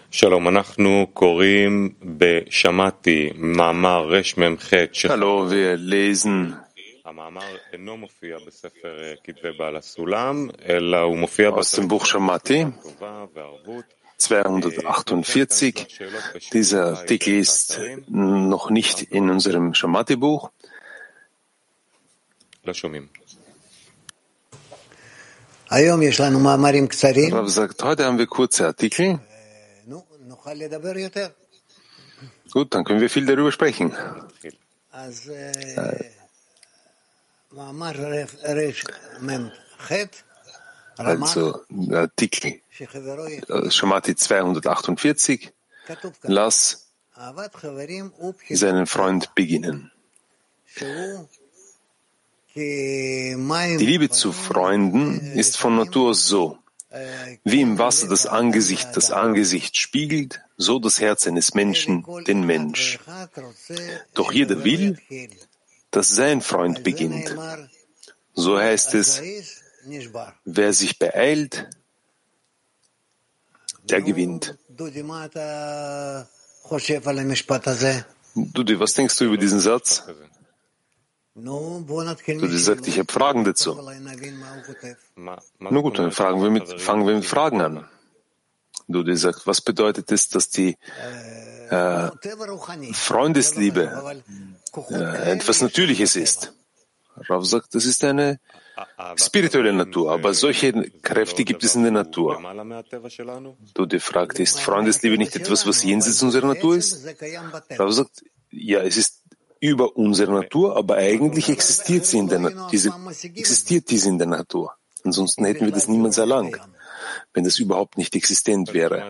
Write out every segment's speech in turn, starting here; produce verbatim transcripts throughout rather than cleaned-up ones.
שלום, אנחנו קוראים בשמעתי מאמר רש מ"ח. Hallo, wir lesen המאמר אינו מופיע בספר כתבי בעל הסולם, אלא הוא מופיע aus dem Buch Shammati zweihundertachtundvierzig. Dieser Artikel ist noch nicht in unserem Shammati-Buch. לא שומעים. Rav sagt, heute haben wir kurze Artikel. Gut, dann können wir viel darüber sprechen. Also, der Artikel Shammati zweihundertachtundvierzig. Lass seinen Freund beginnen. Die Liebe zu Freunden ist von Natur aus so. Wie im Wasser das Angesicht das Angesicht spiegelt, so das Herz eines Menschen den Mensch. Doch jeder will, dass sein Freund beginnt. So heißt es, wer sich beeilt, der gewinnt. Dudi, was denkst du über diesen Satz? Dudi sagt, ich habe Fragen dazu. Na gut, dann fragen wir mit, fangen wir mit Fragen an. Dudi sagt, was bedeutet es, dass die äh, Freundesliebe äh, etwas Natürliches ist? Rav sagt, das ist eine spirituelle Natur, aber solche Kräfte gibt es in der Natur. Dudi fragt, ist Freundesliebe nicht etwas, was jenseits unserer Natur ist? Rav sagt, ja, es ist über unsere Natur, aber eigentlich existiert sie in der Na- diese, existiert diese in der Natur. Ansonsten hätten wir das niemals erlangt, wenn das überhaupt nicht existent wäre.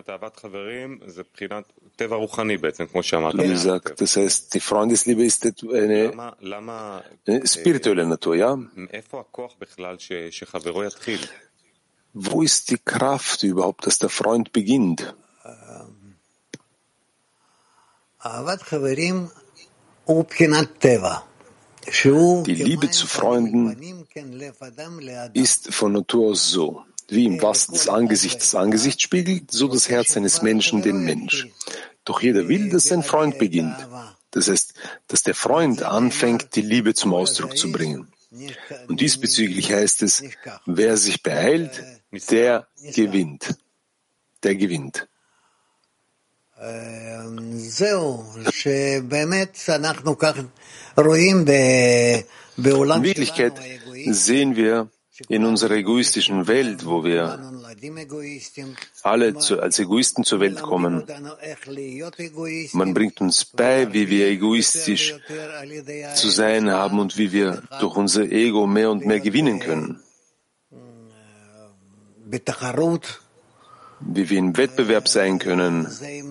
Wie gesagt, das heißt, die Freundesliebe ist eine, eine spirituelle Natur, ja? Wo ist die Kraft überhaupt, dass der Freund beginnt? Die Liebe zu Freunden ist von Natur aus so. Wie im Wasser das Angesicht das Angesicht spiegelt, so das Herz eines Menschen den Mensch. Doch jeder will, dass sein Freund beginnt. Das heißt, dass der Freund anfängt, die Liebe zum Ausdruck zu bringen. Und diesbezüglich heißt es, wer sich beeilt, der gewinnt. Der gewinnt. In Wirklichkeit sehen wir in unserer egoistischen Welt, wo wir alle zu, als Egoisten zur Welt kommen. Man bringt uns bei, wie wir egoistisch zu sein haben und wie wir durch unser Ego mehr und mehr gewinnen können. Wie wir im Wettbewerb sein können.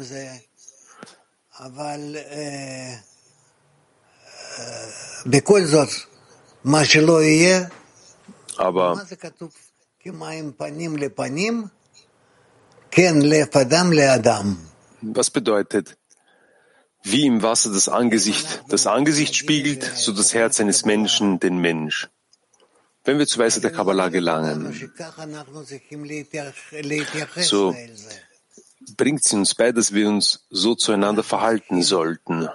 Aber was bedeutet, wie im Wasser das Angesicht das Angesicht spiegelt, so das Herz eines Menschen den Mensch? Wenn wir zur Weisheit der Kabbalah gelangen, so bringt sie uns bei, dass wir uns so zueinander verhalten sollten.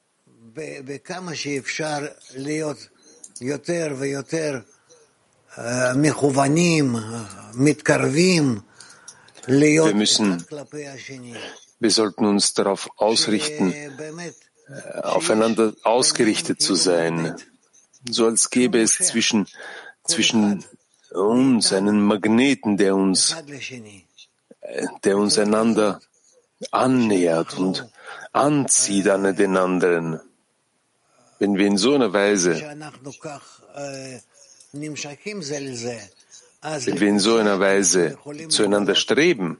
Wir müssen, wir sollten uns darauf ausrichten, aufeinander ausgerichtet zu sein, so als gäbe es zwischen zwischen uns einen Magneten, der uns, der uns einander annähert und anzieht an den anderen. Wenn wir in so einer Weise, wenn wir in so einer Weise zueinander streben,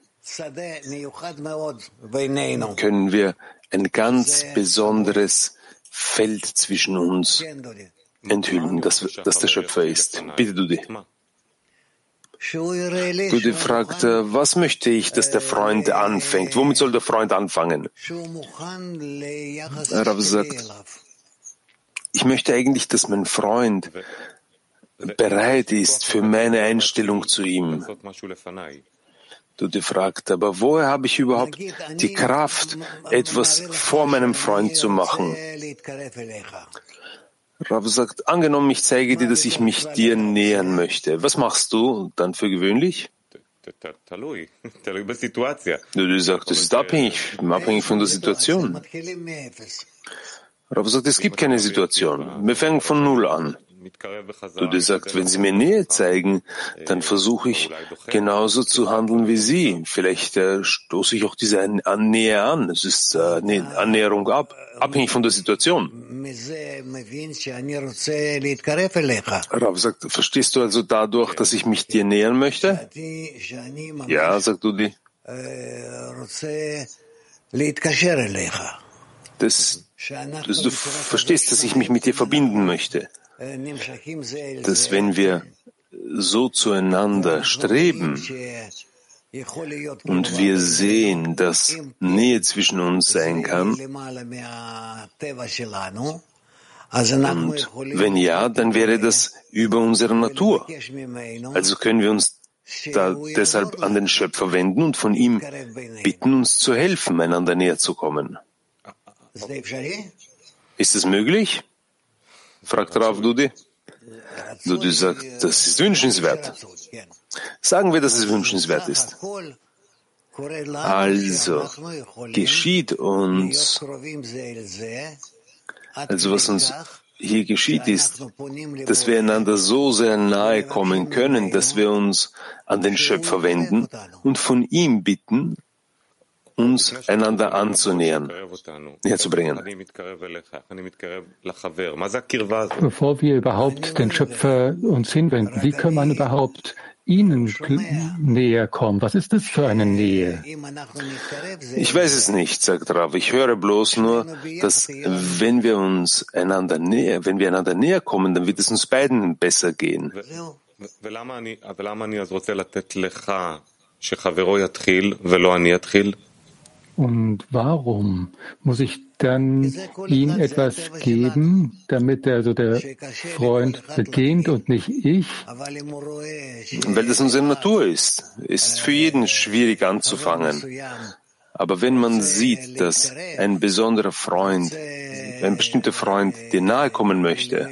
können wir ein ganz besonderes Feld zwischen uns enthüllen, dass, dass der Schöpfer ist. Bitte, Dudi. Dudi fragt, was möchte ich, dass der Freund anfängt? Womit soll der Freund anfangen? Rav sagt, ich möchte eigentlich, dass mein Freund bereit ist für meine Einstellung zu ihm. Dudi fragt, aber woher habe ich überhaupt die Kraft, etwas vor meinem Freund zu machen? Rav sagt, angenommen, ich zeige dir, dass ich mich dir nähern möchte. Was machst du dann für gewöhnlich? Dudi sagt, das ist abhängig, abhängig von der Situation. Rav sagt, es gibt keine Situation. Wir fangen von Null an. Dudi sagt, wenn Sie mir Nähe zeigen, dann versuche ich genauso zu handeln wie Sie. Vielleicht äh, stoße ich auch diese an Nähe an. Es ist äh, eine Annäherung ab, abhängig von der Situation. Rav sagt, verstehst du also dadurch, dass ich mich dir nähern möchte? Ja, sagt Dudi. Das, das, du verstehst, dass ich mich mit dir verbinden möchte. Dass wenn wir so zueinander streben und wir sehen, dass Nähe zwischen uns sein kann, und wenn ja, dann wäre das über unsere Natur. Also können wir uns da deshalb an den Schöpfer wenden und von ihm bitten, uns zu helfen, einander näher zu kommen. Ist es möglich? Fragt Rav Dudi. Dudi sagt, das ist wünschenswert. Sagen wir, dass es wünschenswert ist. Also geschieht uns, also was uns hier geschieht, ist, dass wir einander so sehr nahe kommen können, dass wir uns an den Schöpfer wenden und von ihm bitten, uns einander anzunähern, näher zu bringen. Bevor wir überhaupt den Schöpfer uns hinwenden, wie kann man überhaupt ihnen näher kommen? Was ist das für eine Nähe? Ich weiß es nicht, sagt Rav. Ich höre bloß nur, dass wenn wir uns einander näher, wenn wir einander näher kommen, dann wird es uns beiden besser gehen. Und warum muss ich dann ihm etwas geben, damit der, also der Freund beginnt und nicht ich? Weil das unsere Natur ist. Es ist für jeden schwierig anzufangen. Aber wenn man sieht, dass ein besonderer Freund, ein bestimmter Freund dir nahe kommen möchte,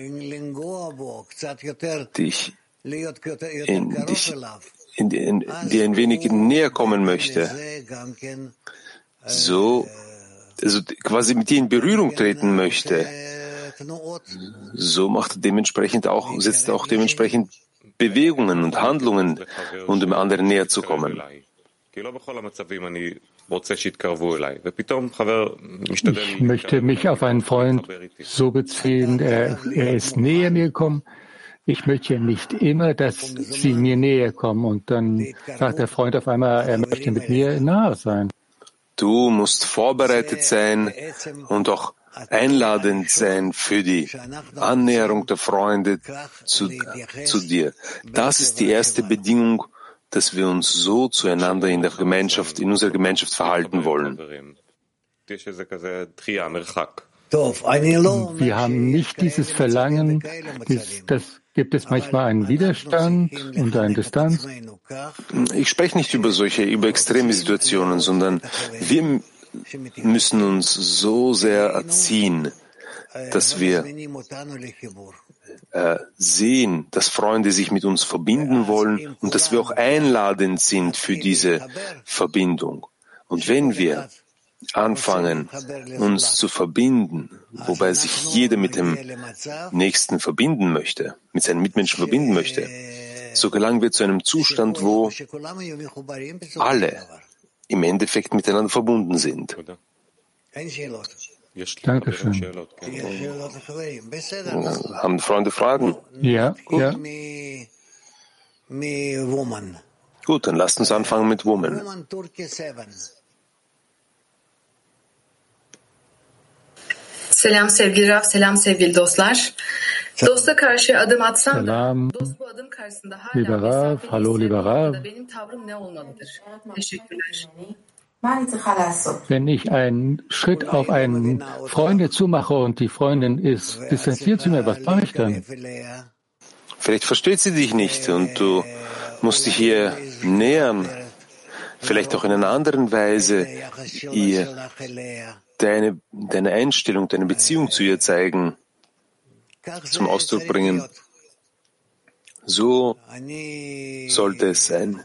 dich in, dich in, in, dir ein wenig näher kommen möchte, so, also quasi mit dir in Berührung treten möchte, so macht er dementsprechend auch, setzt er auch dementsprechend Bewegungen und Handlungen, um dem anderen näher zu kommen. Ich möchte mich auf einen Freund so beziehen, er, er ist näher mir gekommen. Ich möchte nicht immer, dass sie mir näher kommen und dann sagt der Freund auf einmal, er möchte mit mir nahe sein. Du musst vorbereitet sein und auch einladend sein für die Annäherung der Freunde zu, zu dir. Das ist die erste Bedingung, dass wir uns so zueinander in der Gemeinschaft, in unserer Gemeinschaft verhalten wollen. Wir haben nicht dieses Verlangen, das, das gibt es manchmal einen Widerstand und eine Distanz. Ich spreche nicht über solche, über extreme Situationen, sondern wir müssen uns so sehr erziehen, dass wir äh, sehen, dass Freunde sich mit uns verbinden wollen und dass wir auch einladend sind für diese Verbindung. Und wenn wir anfangen, uns zu verbinden, wobei sich jeder mit dem Nächsten verbinden möchte, mit seinen Mitmenschen verbinden möchte, so gelangen wir zu einem Zustand, wo alle im Endeffekt miteinander verbunden sind. Dankeschön. Haben Freunde Fragen? Ja, Gut. ja. Gut, dann lasst uns anfangen mit Woman. Selam sevgili Rav, selam sevgili dostlar. Dosta karşı adım atsam Salam, da dost bu adım karşısında lieber hala Rav, mesafeli hallo lieber Rav. hissettiğimde benim tavrım ne olmalıdır? Teşekkürler. Wenn ich einen Schritt auf einen Freunde zumache und die Freundin ist distanziert zu mir, was mache ich dann? Vielleicht versteht sie dich nicht und du musst dich ihr nähern. vielleicht auch in einer anderen Weise ihr deine, deine Einstellung, deine Beziehung zu ihr zeigen, zum Ausdruck bringen. So sollte es sein.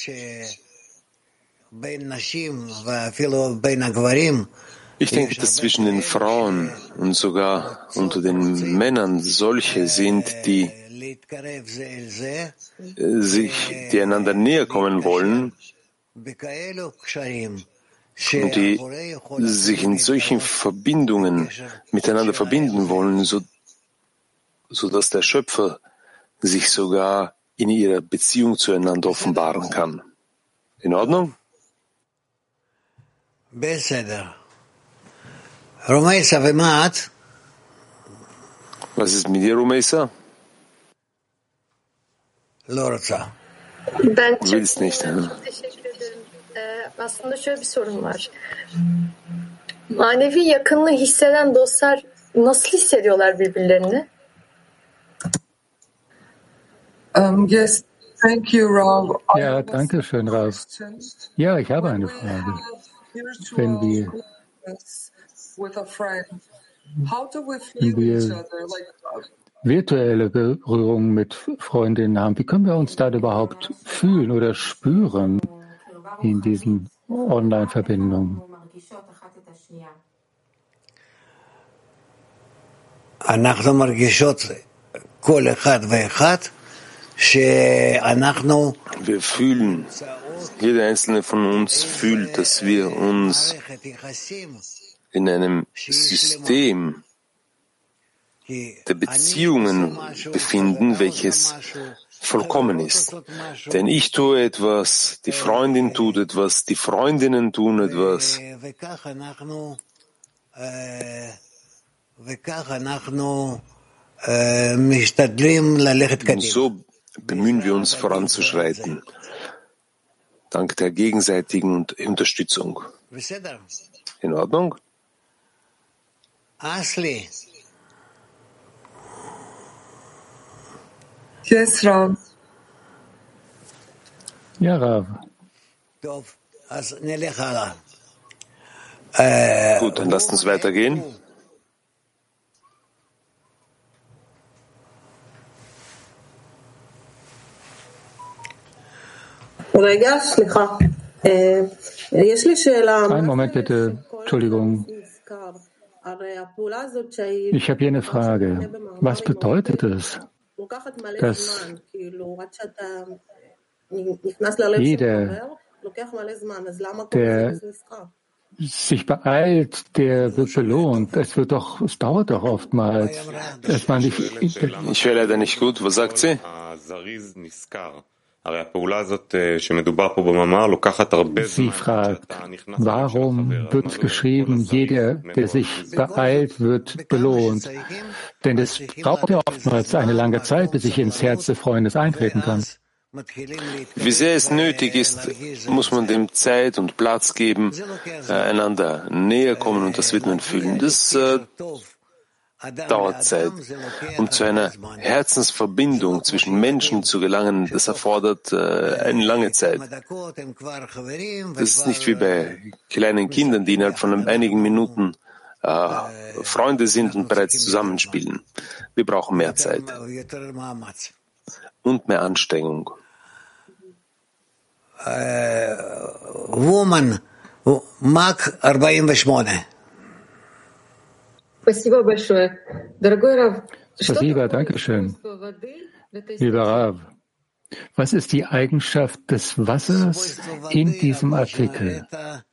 Ich denke, dass zwischen den Frauen und sogar unter den Männern solche sind, die sich, die einander näher kommen wollen und die sich in solchen Verbindungen miteinander verbinden wollen, so, so dass der Schöpfer sich sogar in ihrer Beziehung zueinander offenbaren kann. In Ordnung? Was ist mit dir, Rumeisa? Ben Du willst nicht. çok teşekkür ederim. Ee, aslında şöyle bir sorun var. Manevi yakınlığı hisseden dostlar nasıl hissediyorlar birbirlerini? Um, yes, thank you, Rav. Ja, danke schön, Rav. Ja, ich habe eine Frage. Wenn wir, wenn wir virtuelle Berührung mit Freundinnen haben, wie können wir uns da überhaupt fühlen oder spüren in diesen Online-Verbindungen? Wir fühlen, jeder einzelne von uns fühlt, dass wir uns in einem System der Beziehungen befinden, welches vollkommen ist. Denn ich tue etwas, die Freundin tut etwas, die Freundinnen tun etwas. Und so bemühen wir uns voranzuschreiten, dank der gegenseitigen Unterstützung. In Ordnung? Asli. Yes, Rav. Ja, Rav. Gut, dann lasst uns weitergehen. Einen Moment bitte, Entschuldigung. Ich habe hier eine Frage. Was bedeutet es, dass jeder, der sich beeilt, der wird belohnt. Es wird doch, es dauert doch oftmals, dass man nicht. Ich höre leider nicht gut. Was sagt sie? Sie fragt, warum wird geschrieben, jeder, der sich beeilt, wird belohnt? Denn es braucht ja oftmals eine lange Zeit, bis ich ins Herz des Freundes eintreten kann. Wie sehr es nötig ist, muss man dem Zeit und Platz geben, äh, einander näher kommen und das wird man fühlen. Das äh, dauert Zeit. Um zu einer Herzensverbindung zwischen Menschen zu gelangen, das erfordert äh, eine lange Zeit. Das ist nicht wie bei kleinen Kindern, die innerhalb von einigen Minuten äh, Freunde sind und bereits zusammenspielen. Wir brauchen mehr Zeit und mehr Anstrengung. Äh, Woman, Mark forty-eight. Спасибо большое. Дорогой Рав, Спасибо, danke schön. Lieber Rav, was ist die Eigenschaft des Wassers in diesem Artikel?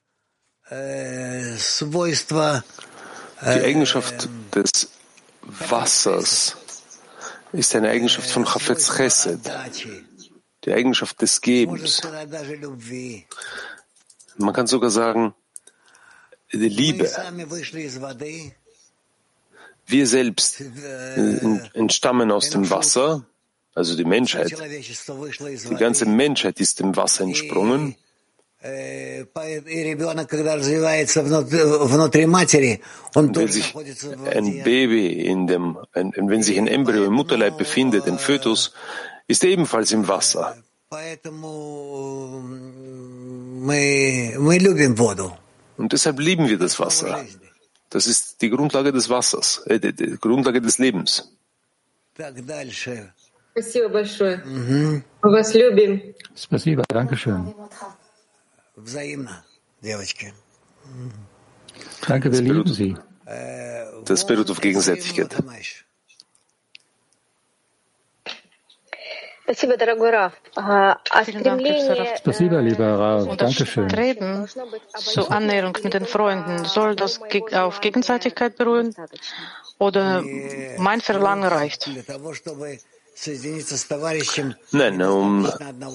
Die Eigenschaft des Wassers ist eine Eigenschaft von Chafetz Chesed, die Eigenschaft des Gebens. Man kann sogar sagen, die Liebe. Wir selbst entstammen aus dem Wasser, also die Menschheit. Die ganze Menschheit ist dem Wasser entsprungen. Und wenn sich ein Baby in dem, ein, wenn sich ein Embryo im Mutterleib befindet, ein Fötus, ist er ebenfalls im Wasser. Und deshalb lieben wir das Wasser. Das ist die Grundlage des Wassers, äh, die, die Grundlage des Lebens. Спасибо большое. Мы вас любим. Спасибо, danke schön. Danke, wir lieben Sie. Das beruht auf Gegenseitigkeit. Спасибо, дорогой Рав. А стремление Спасибо, lieber Rav. Und das Dankeschön. Streben zur Annäherung mit den Freunden, soll das ge- auf Gegenseitigkeit beruhen? Oder mein Verlangen reicht? Nein, um,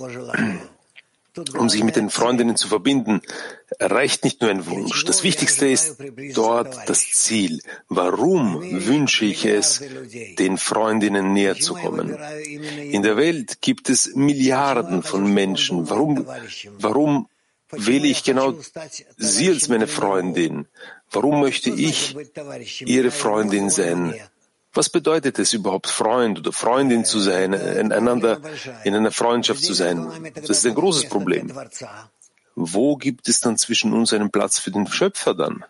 um sich mit den Freundinnen zu verbinden, reicht nicht nur ein Wunsch. Das Wichtigste ist dort das Ziel. Warum wünsche ich es, den Freundinnen näher zu kommen? In der Welt gibt es Milliarden von Menschen. Warum, warum wähle ich genau sie als meine Freundin? Warum möchte ich ihre Freundin sein? Was bedeutet es überhaupt, Freund oder Freundin zu sein, einander in einer Freundschaft zu sein? Das ist ein großes Problem. Wo gibt es dann zwischen uns einen Platz für den Schöpfer dann?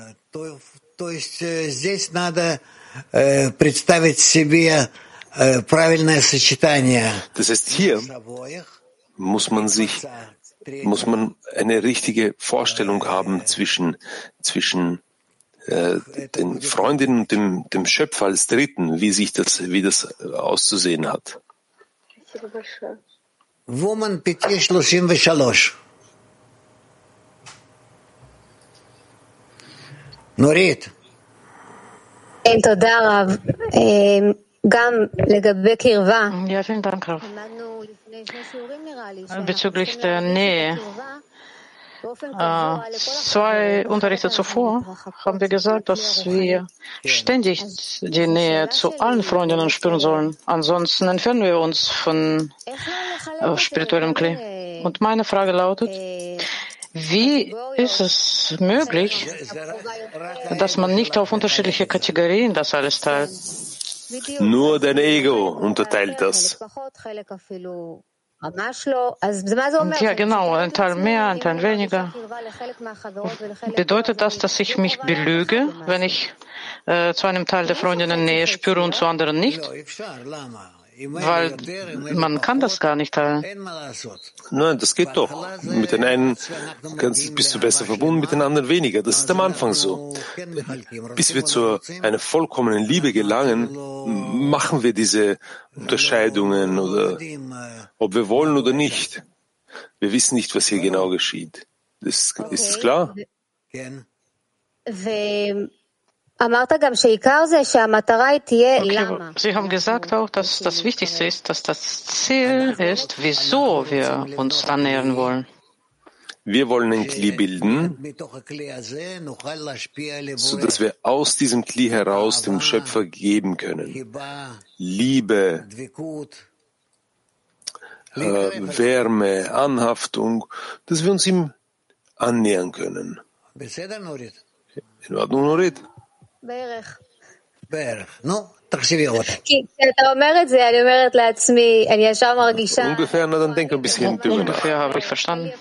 Das heißt, hier muss man sich, muss man eine richtige Vorstellung haben zwischen, zwischen den Freundinnen und dem, dem Schöpfer als Dritten, wie sich das, wie das auszusehen hat. Woman Piti שלושים ושלוש. נורית. תודה רב. גם לגבי קרבה. Ja, vielen Dank, Rav. Bezüglich der Nähe. Äh, zwei Unterrichte zuvor haben wir gesagt, dass wir ständig die Nähe zu allen Freundinnen spüren sollen. Ansonsten entfernen wir uns von äh, spirituellem Kli. Und meine Frage lautet, wie ist es möglich, dass man nicht auf unterschiedliche Kategorien das alles teilt? Nur dein Ego unterteilt das. Ja, genau, ein Teil mehr, ein Teil weniger. Bedeutet das, dass ich mich belüge, wenn ich äh, zu einem Teil der Freundinnen Nähe spüre und zu anderen nicht? Weil man kann das gar nicht teilen. Nein, das geht doch. Mit den einen kannst, bist du besser verbunden, mit den anderen weniger. Das ist am Anfang so. Bis wir zu einer vollkommenen Liebe gelangen, machen wir diese Unterscheidungen, oder ob wir wollen oder nicht. Wir wissen nicht, was hier genau geschieht. Das, ist es klar? Okay, Sie haben gesagt auch, dass das Wichtigste ist, dass das Ziel ist, wieso wir uns annähern wollen. Wir wollen ein Kli bilden, sodass wir aus diesem Kli heraus dem Schöpfer geben können. Liebe, äh, Wärme, Anhaftung, dass wir uns ihm annähern können. In Ordnung, Norit? Ungefähr, na dann denk ein bisschen drüber nach. Ungefähr habe ich verstanden.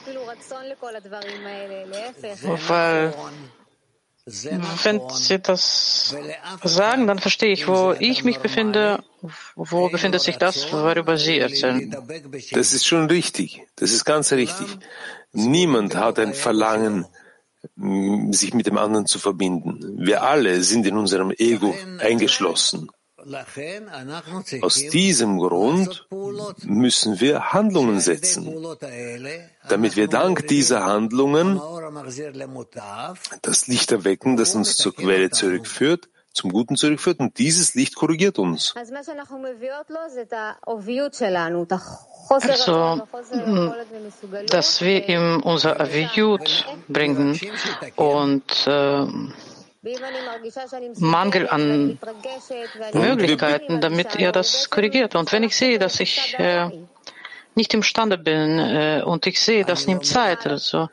Weil, wenn Sie das sagen, dann verstehe ich, wo ich mich befinde, wo befindet sich das, worüber Sie erzählen. Das ist schon richtig. Das ist ganz richtig. Niemand hat ein Verlangen, sich mit dem anderen zu verbinden. Wir alle sind in unserem Ego eingeschlossen. Aus diesem Grund müssen wir Handlungen setzen, damit wir dank dieser Handlungen das Licht erwecken, das uns zur Quelle zurückführt, zum Guten zurückführt, und dieses Licht korrigiert uns. Also, dass wir ihm unser Aviyut bringen und äh, Mangel an Möglichkeiten, damit er das korrigiert. Und wenn ich sehe, dass ich äh, nicht imstande bin äh, und ich sehe, das nimmt Zeit, also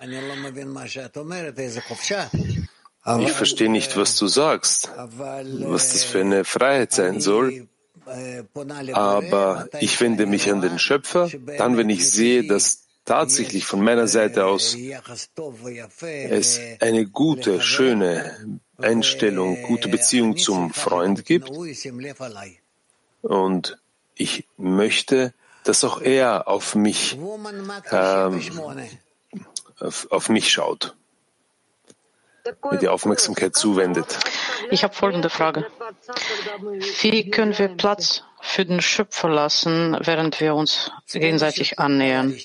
ich verstehe nicht, was du sagst, was das für eine Freiheit sein soll. Aber ich wende mich an den Schöpfer, dann, wenn ich sehe, dass tatsächlich von meiner Seite aus es eine gute, schöne Einstellung, gute Beziehung zum Freund gibt und ich möchte, dass auch er auf mich, ähm, auf, auf mich schaut, mir die Aufmerksamkeit zuwendet. Ich habe folgende Frage. Wie können wir Platz für den Schöpfer lassen, während wir uns gegenseitig annähern?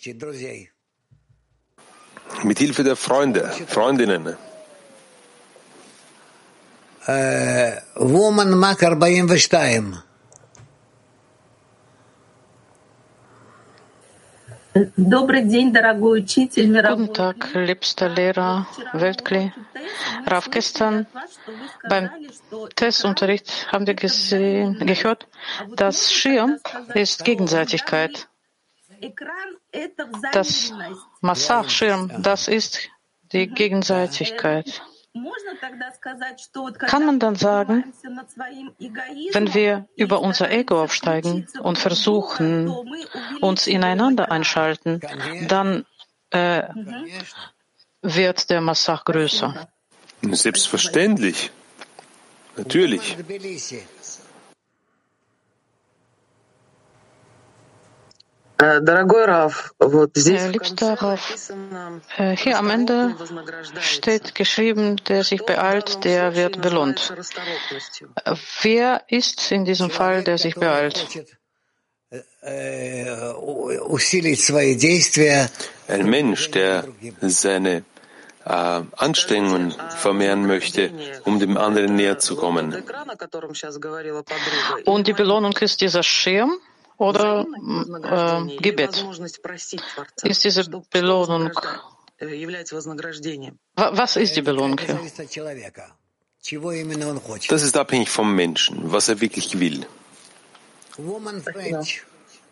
Mit Hilfe der Freunde, Freundinnen. Äh, Woman Mark vierundarbeitig. Guten Tag, liebster Lehrer Weltkli. Rav, gestern beim Testunterricht haben wir gesehen, gehört, dass Schirm ist Gegenseitigkeit. Das Massach-Schirm, das ist die Gegenseitigkeit. Kann man dann sagen, wenn wir über unser Ego aufsteigen und versuchen, uns ineinander einschalten, dann äh, wird der Massach größer? Selbstverständlich. Natürlich. Liebster Rav, hier am Ende steht geschrieben, der sich beeilt, der wird belohnt. Wer ist in diesem Fall, der sich beeilt? Ein Mensch, der seine äh, Anstrengungen vermehren möchte, um dem anderen näher zu kommen. Und die Belohnung ist dieser Schirm? Oder äh, Gebet? Ist diese Belohnung? Was ist die Belohnung hier? Das ist abhängig vom Menschen, was er wirklich will. Woman French.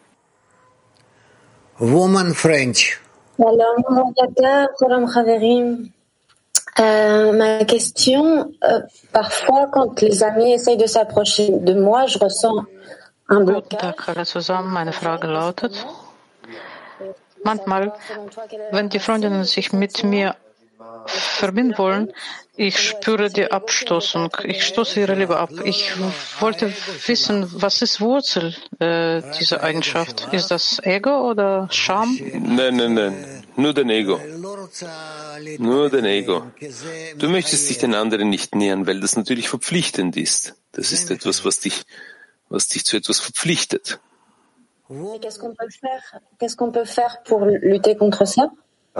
Woman French. Shalom, Shalom, Chaverim. Euh, ma question, euh, parfois quand les amis essayent de s'approcher de moi, je ressens Guten Tag alle zusammen. Meine Frage lautet, manchmal, wenn die Freundinnen sich mit mir verbinden wollen, ich spüre die Abstoßung. Ich stoße ihre Liebe ab. Ich wollte wissen, was ist Wurzel äh, dieser Eigenschaft? Ist das Ego oder Scham? Nein, nein, nein. Nur dein Ego. Nur dein Ego. Du möchtest dich den anderen nicht nähern, weil das natürlich verpflichtend ist. Das ist etwas, was dich was dich zu etwas verpflichtet. Qu'est-ce qu'on peut faire? Qu'est-ce qu'on peut faire pour lutter contre ça?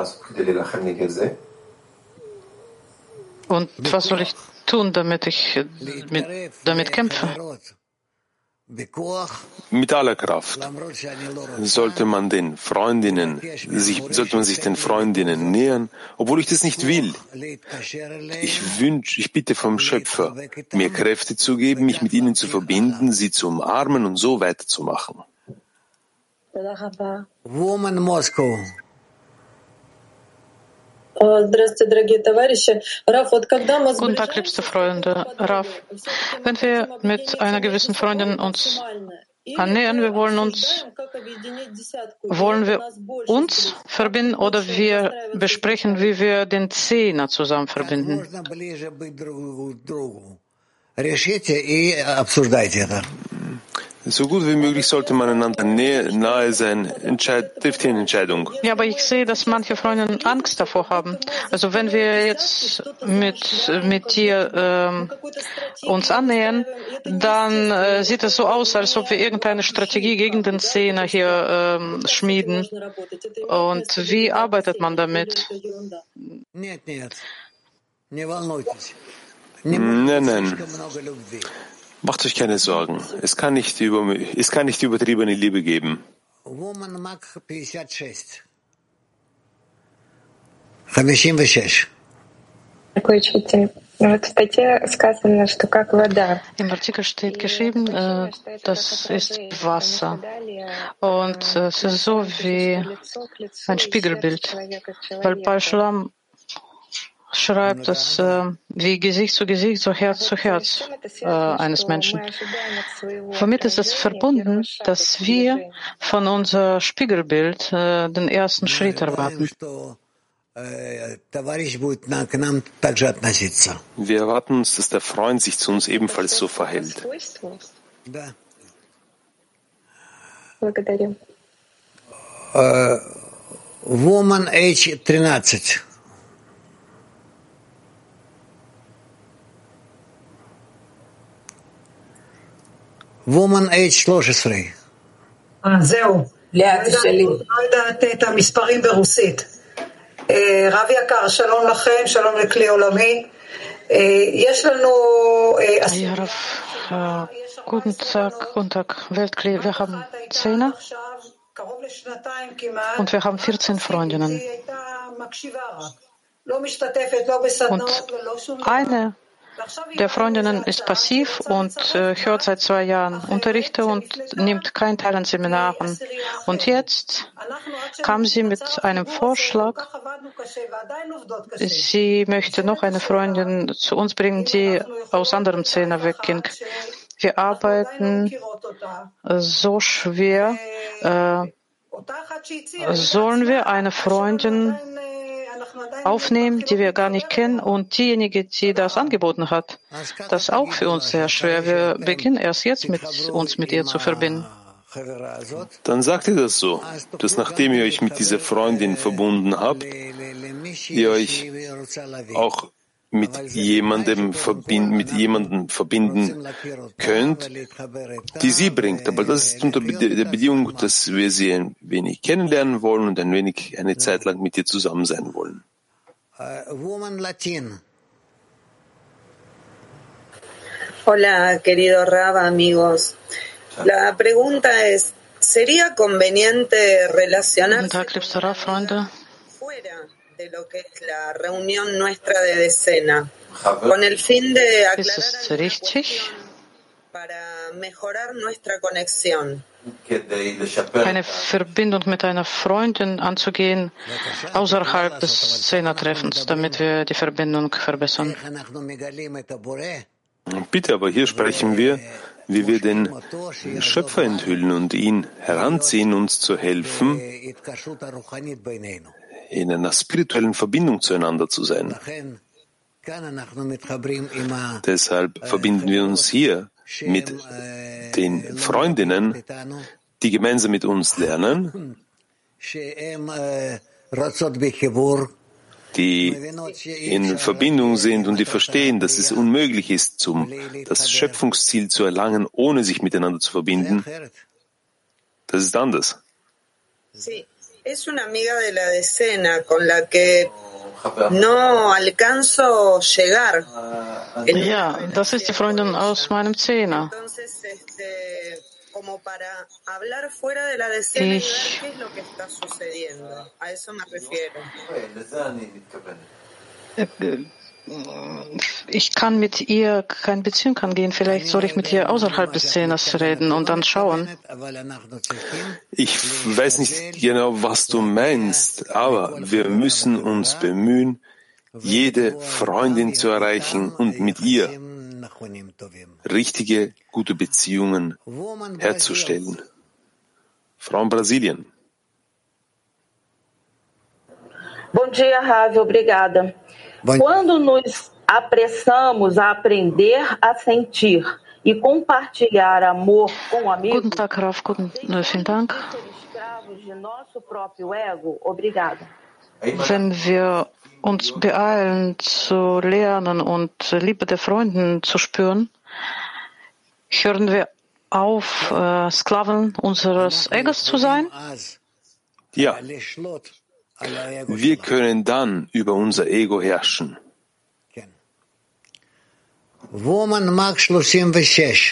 Und was soll ich tun, damit ich mit, damit kämpfe? Mit aller Kraft sollte man den Freundinnen, sich, sollte man sich den Freundinnen nähern, obwohl ich das nicht will. Ich wünsche, ich bitte vom Schöpfer, mir Kräfte zu geben, mich mit ihnen zu verbinden, sie zu umarmen und so weiterzumachen. Woman Moscow. Guten Tag, liebste Freunde. Rav, wenn wir mit einer gewissen Freundin uns annähern, wir wollen uns, wollen wir uns verbinden oder wir besprechen, wie wir den Zehner zusammen verbinden? So gut wie möglich sollte man einander nahe sein. Entscheid, trifft die Entscheidung. Ja, aber ich sehe, dass manche Freunde Angst davor haben. Also wenn wir jetzt mit, mit dir ähm, uns annähern, dann äh, sieht es so aus, als ob wir irgendeine Strategie gegen den Zehner hier ähm, schmieden. Und wie arbeitet man damit? Nein, nein. Macht euch keine Sorgen. Es kann nicht, über, es kann nicht übertriebene Liebe geben. Im Artikel steht geschrieben, äh, das ist Wasser. Und äh, es ist so wie ein Spiegelbild. Weil bei Schulam beschreibt es äh, wie Gesicht zu Gesicht, so Herz zu Herz äh, eines Menschen. Womit ist es verbunden, dass wir von unser Spiegelbild äh, den ersten Schritt erwarten. Wir erwarten uns, dass der Freund sich zu uns ebenfalls so verhält. Uh, woman age тринадцать. Woman age שלוש עשרה. זהו. לא יודעת את המספרים ברוסית. רב יקר, שלום לכם, שלום לכלי עולמי. יש לנו... Guten Tag, guten Tag, Weltkli. Wir haben Zehner und wir haben vierzehn Freundinnen. Und eine der Freundinnen ist passiv und äh, hört seit zwei Jahren Unterrichte und nimmt keinen Teil an Seminaren. Und jetzt kam sie mit einem Vorschlag, sie möchte noch eine Freundin zu uns bringen, die aus anderem Zehner wegging. Wir arbeiten so schwer. Äh, sollen wir eine Freundin aufnehmen, die wir gar nicht kennen, und diejenige, die das angeboten hat, das ist auch für uns sehr schwer. Wir beginnen erst jetzt mit uns mit ihr zu verbinden. Dann sagt ihr das so, dass nachdem ihr euch mit dieser Freundin verbunden habt, ihr euch auch mit jemandem verbinden, mit jemandem verbinden könnt, die sie bringt. Aber das ist unter der Bedingung, dass wir sie ein wenig kennenlernen wollen und ein wenig eine Zeit lang mit ihr zusammen sein wollen. Hola, querido Rav, amigos. La pregunta es, ¿sería conveniente relacionarse fuera de lo que es la reunión nuestra de decena, con el fin de aclarar para mejorar nuestra conexión? Eine Verbindung mit einer Freundin anzugehen außerhalb des Zehnertreffens, damit wir die Verbindung verbessern. Bitte, aber hier sprechen wir, wie wir den Schöpfer enthüllen und ihn heranziehen, uns zu helfen, in einer spirituellen Verbindung zueinander zu sein. Deshalb verbinden wir uns hier mit den Freundinnen, die gemeinsam mit uns lernen, die in Verbindung sind und die verstehen, dass es unmöglich ist, zum, das Schöpfungsziel zu erlangen, ohne sich miteinander zu verbinden. Das ist anders. Sí, es una amiga de la decena con la que no alcanzo llegar. Ja, das ist die Freundin aus meinem Zehner. Como para hablar fuera de la decena y ver qué es lo que está sucediendo. A eso me refiero. Ich kann mit ihr keine Beziehung angehen. Vielleicht soll ich mit ihr außerhalb des Zehners reden und dann schauen. Ich weiß nicht genau, was du meinst, aber wir müssen uns bemühen, jede Freundin zu erreichen und mit ihr richtige, gute Beziehungen herzustellen. Frau in Brasilien. Bom dia, Ravi, obrigada. Quando nos apressamos a aprender a sentir e compartilhar amor com amigos, Guten Tag, Rav, guten, vielen Dank. de nosso próprio ego, obrigada. Wenn wir uns beeilen zu lernen und Liebe der Freunden zu spüren, hören wir auf, äh, Sklaven unseres Egos zu sein? Ja. Wir können dann über unser Ego herrschen. Woman Mark שלושים ושש.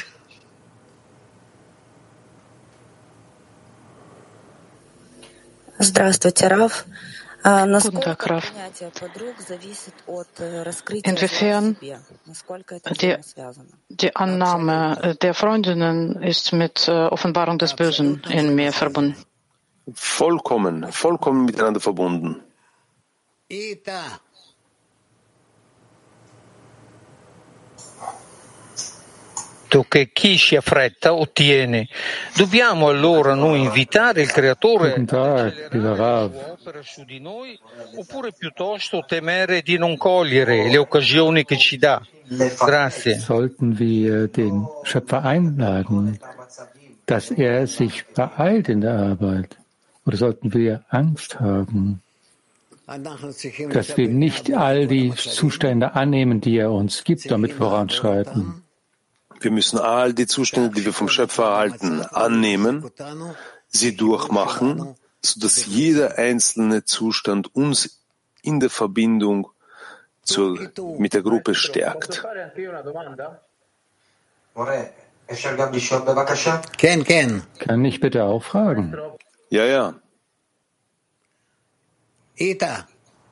Здравствуйте, Рав. Guten Tag, Rav. Inwiefern die, die Annahme der Freundinnen ist mit Offenbarung des Bösen in mir verbunden? Vollkommen, vollkommen miteinander verbunden. che chi si affretta ottiene. Dobbiamo allora noi invitare il Creatore Guten Tag, lieber Rav. opera su di noi oppure piuttosto temere di non cogliere le occasioni che ci dà? Grazie. Sollten wir den Schöpfer einladen, dass er sich beeilt in der Arbeit? Oder sollten wir Angst haben, dass wir nicht all die Zustände annehmen, die er uns gibt, damit voranschreiten? Wir müssen all die Zustände, die wir vom Schöpfer erhalten, annehmen, sie durchmachen, sodass jeder einzelne Zustand uns in der Verbindung zur, mit der Gruppe stärkt. Ken, Ken. Kann ich bitte auch fragen? Ja, ja. Ita.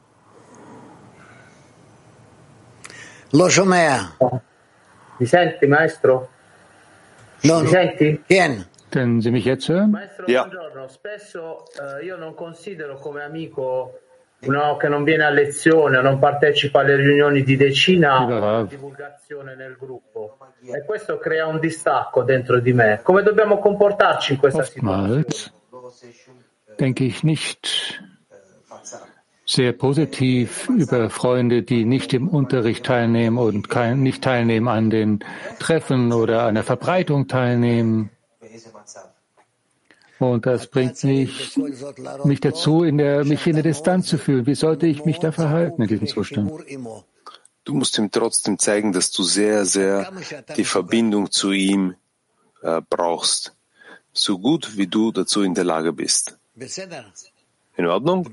Lo sciomea. Mi senti, maestro? No, Mi senti? Ken. Können Sie mich jetzt hören? Maestro, Ja. buongiorno. Spesso eh, io non considero come amico uno che non viene a lezione o non partecipa alle riunioni di decina Lieber divulgazione nel gruppo. E questo crea un distacco dentro di me. Come dobbiamo comportarci in questa situazione? Oftmals denke ich nicht sehr positiv über Freunde, die nicht im Unterricht teilnehmen und kein, nicht teilnehmen an den Treffen oder an der Verbreitung teilnehmen. Und das bringt mich, mich dazu, in der, mich in der Distanz zu fühlen. Wie sollte ich mich da verhalten in diesem Zustand? Du musst ihm trotzdem zeigen, dass du sehr, sehr die Verbindung zu ihm äh, brauchst. So gut, wie du dazu in der Lage bist. In Ordnung?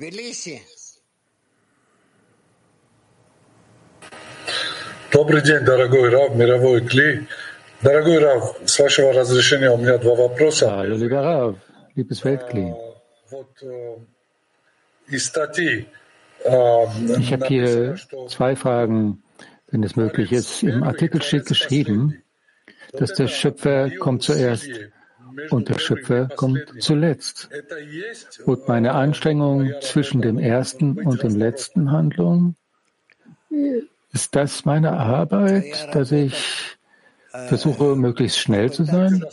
Добрый день, дорогой Рав, мировой Кли. Дорогой Рав, с вашего разрешения у меня два вопроса. Hallo, lieber Rav, liebes Weltkli. Вот из статьи Ich habe hier zwei Fragen, wenn es möglich ist. Im Artikel steht geschrieben, dass der Schöpfer kommt zuerst und der Schöpfer kommt zuletzt. Und meine Anstrengung zwischen dem ersten und dem letzten Handlung, ist das meine Arbeit, dass ich versuche, möglichst schnell zu sein?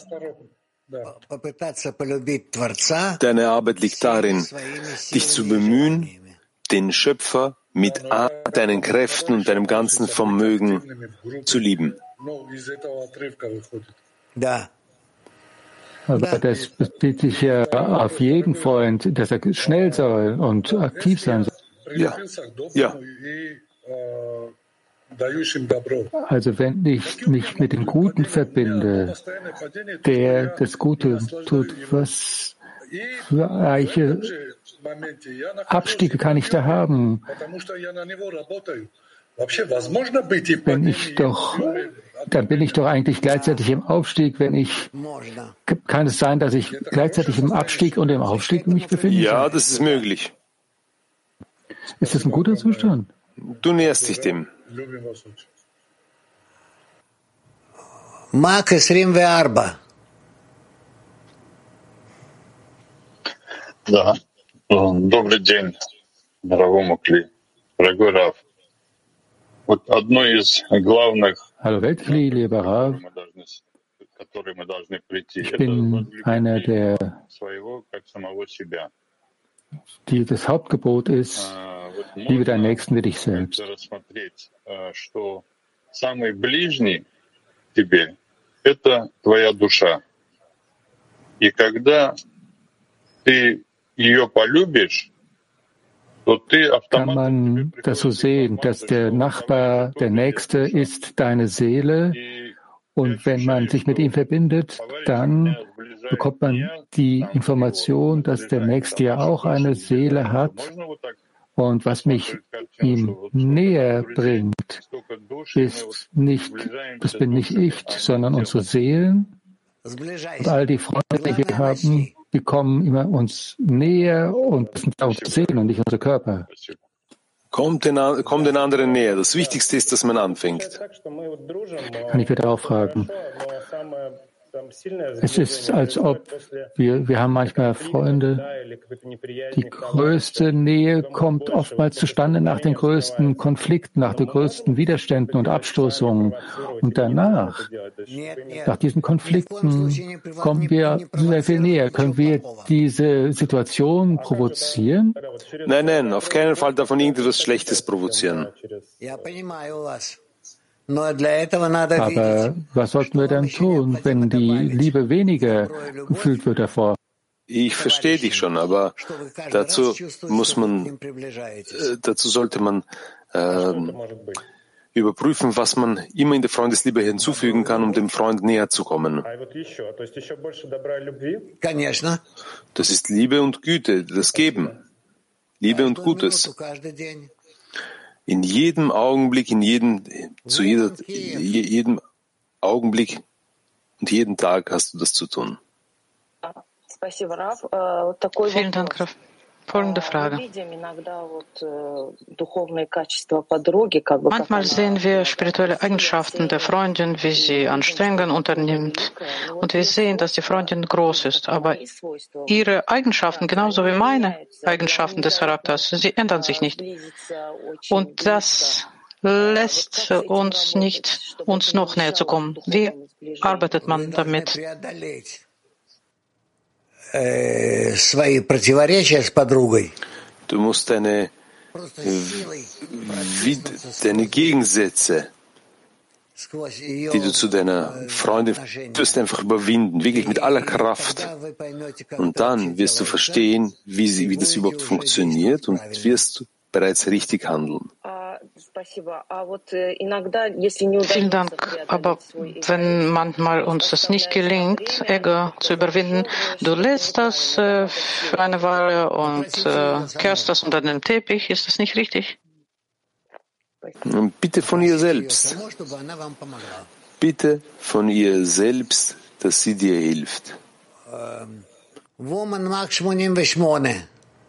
Deine Arbeit liegt darin, dich zu bemühen, den Schöpfer mit all deinen Kräften und deinem ganzen Vermögen zu lieben. Aber das bezieht sich ja auf jeden Freund, dass er schnell soll und aktiv sein soll. Ja, ja. Also wenn ich mich mit dem Guten verbinde, der das Gute tut, was für reiche Abstiege kann ich da haben? Wenn ich doch, dann bin ich doch eigentlich gleichzeitig im Aufstieg, wenn ich, kann es sein, dass ich gleichzeitig im Abstieg und im Aufstieg mich befinde? Ja, das ist möglich. Ist das ein guter Zustand? Du näherst dich dem. Mark vierundzwanzig. Да. Добрый день, дорогому Кли. Дорогой Рав. Вот одно из главных, Hallo Weltkli, lieber Rav. которые мы должны прийти, Ich это bin einer, der своего, как самого себя. die, das Hauptgebot ist, liebe deinen Nächsten wie dich selbst. Рассмотреть, что самый ближний тебе — это твоя душа. И когда ты ее полюбишь, то ты Kann автоматически man das so sehen, dass der Nachbar, der Nächste ist deine Seele und wenn man sich mit ihm verbindet, dann bekommt man die Information, dass der Nächste ja auch eine Seele hat und was mich ihm näher bringt, ist nicht, das bin nicht ich, sondern unsere Seelen und all die Freunde, die wir haben, die kommen immer uns näher und das sind unsere Seelen und nicht unsere Körper. Kommt den, kommt den anderen näher. Das Wichtigste ist, dass man anfängt. Kann ich bitte auch fragen? Es ist, als ob wir, wir haben manchmal Freunde, die größte Nähe kommt oftmals zustande nach den größten Konflikten, nach den größten Widerständen und Abstoßungen. Und danach, nach diesen Konflikten, kommen wir sehr viel näher. Können wir diese Situation provozieren? Nein, nein, auf keinen Fall davon irgendetwas Schlechtes provozieren. Aber was sollten wir dann tun, wenn die Liebe weniger gefühlt wird davor? Ich verstehe dich schon, aber dazu muss man, äh, dazu sollte man äh, überprüfen, was man immer in der Freundesliebe hinzufügen kann, um dem Freund näher zu kommen. Das ist Liebe und Güte, das Geben. Liebe und Gutes. In jedem Augenblick, in jedem, zu jeder, jedem Augenblick und jeden Tag hast du das zu tun. Vielen Dank, Rav. Folgende Frage. Manchmal sehen wir spirituelle Eigenschaften der Freundin, wie sie Anstrengungen unternimmt. Und wir sehen, dass die Freundin groß ist. Aber ihre Eigenschaften, genauso wie meine Eigenschaften des Charakters, sie ändern sich nicht. Und das lässt uns nicht, uns noch näher zu kommen. Wie arbeitet man damit? Du musst deine, deine Gegensätze, die du zu deiner Freundin wirst, einfach überwinden, wirklich mit aller Kraft. Und dann wirst du verstehen, wie, sie, wie das überhaupt funktioniert und wirst bereits richtig handeln. Vielen Dank. Aber wenn manchmal uns das nicht gelingt, Ego zu überwinden, du lässt das äh, für eine Weile und äh, kehrst das unter den Teppich, ist das nicht richtig? Bitte von ihr selbst. Bitte von ihr selbst, dass sie dir hilft. Woman Mark achtundachtzig.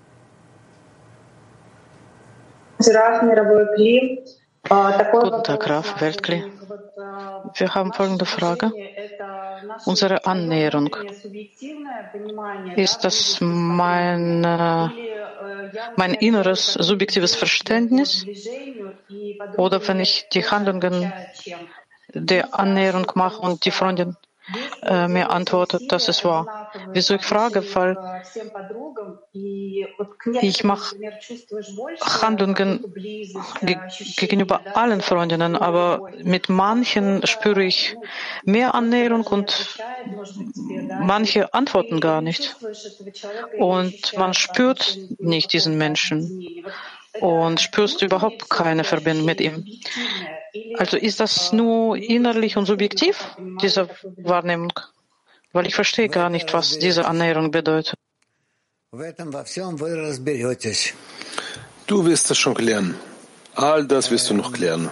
Guten Tag, Rav Weltkli. Wir haben folgende Frage. Unsere Annäherung. Ist das mein, mein inneres subjektives Verständnis? Oder wenn ich die Handlungen der Annäherung mache und die Freundin äh, mir antwortet, dass es wahr. Wieso ich frage? Weil ich mache Handlungen ge gegenüber allen Freundinnen, aber mit manchen spüre ich mehr Annäherung und manche antworten gar nicht. Und man spürt nicht diesen Menschen und spürst überhaupt keine Verbindung mit ihm. Also ist das nur innerlich und subjektiv, diese Wahrnehmung? Weil ich verstehe gar nicht, was diese Annäherung bedeutet. Du wirst das schon klären. All das wirst du noch klären.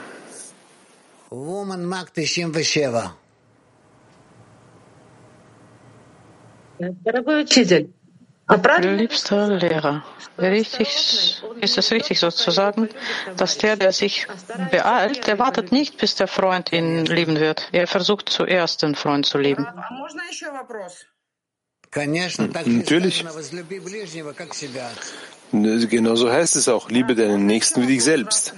Liebster Lehrer, richtig, ist es richtig so zu sagen, dass der, der sich beeilt, der wartet nicht, bis der Freund ihn lieben wird. Er versucht zuerst, den Freund zu lieben. Natürlich. Genauso heißt es auch, liebe deinen Nächsten wie dich selbst.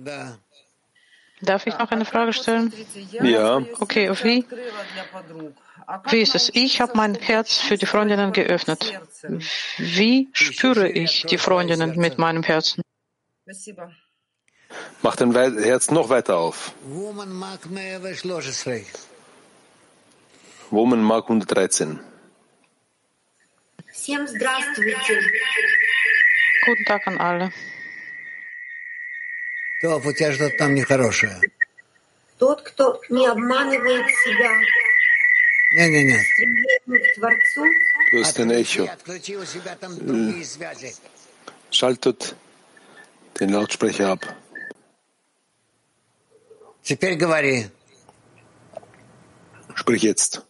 Darf ich noch eine Frage stellen? Ja. Okay, wie? Wie ist es? Ich habe mein Herz für die Freundinnen geöffnet. Wie spüre ich die Freundinnen mit meinem Herzen? Mach dein Herz noch weiter auf. Woman Mark hundertdreizehn. Guten Tag an alle. Тот, кто не обманывает себя, Du hast ein Echo. Schaltet den Lautsprecher ab. Sprich jetzt.